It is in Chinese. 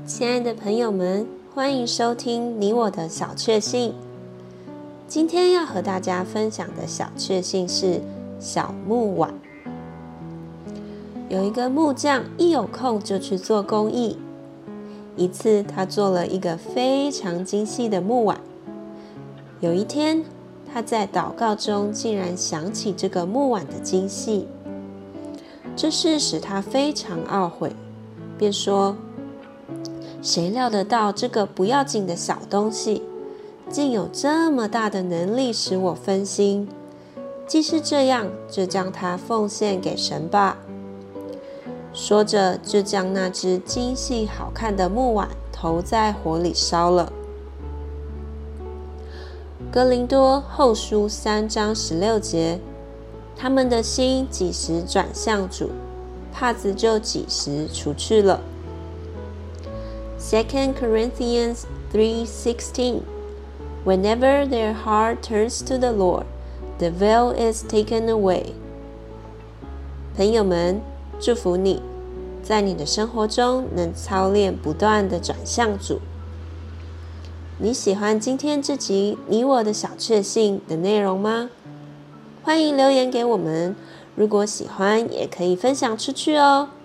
親愛的朋友們，歡迎收聽你我的小確幸。今天要和大家分享的小確幸是小木碗。有一個木匠一有空就去做公益。一次他做了一個非常精細的木碗。有一天他在禱告中竟然想起這個木碗的精細，這事使他非常懊悔，便說，誰料得到這個不要緊的小東西竟有這麼大的能力使我分心，既是這樣，就將它奉獻給神吧。說着就將那隻精細好看的木碗投在火裡燒了。哥林多後書3章16節，他們的心幾時轉向主，帕子就幾時除去了。2 Corinthians 3:16 Whenever their heart turns to the Lord, the veil is taken away. 朋友們，祝福你，在你的生活中能操練不斷地轉向主。你喜歡今天這集你我的小確幸的內容嗎？歡迎留言給我們，如果喜歡也可以分享出去哦。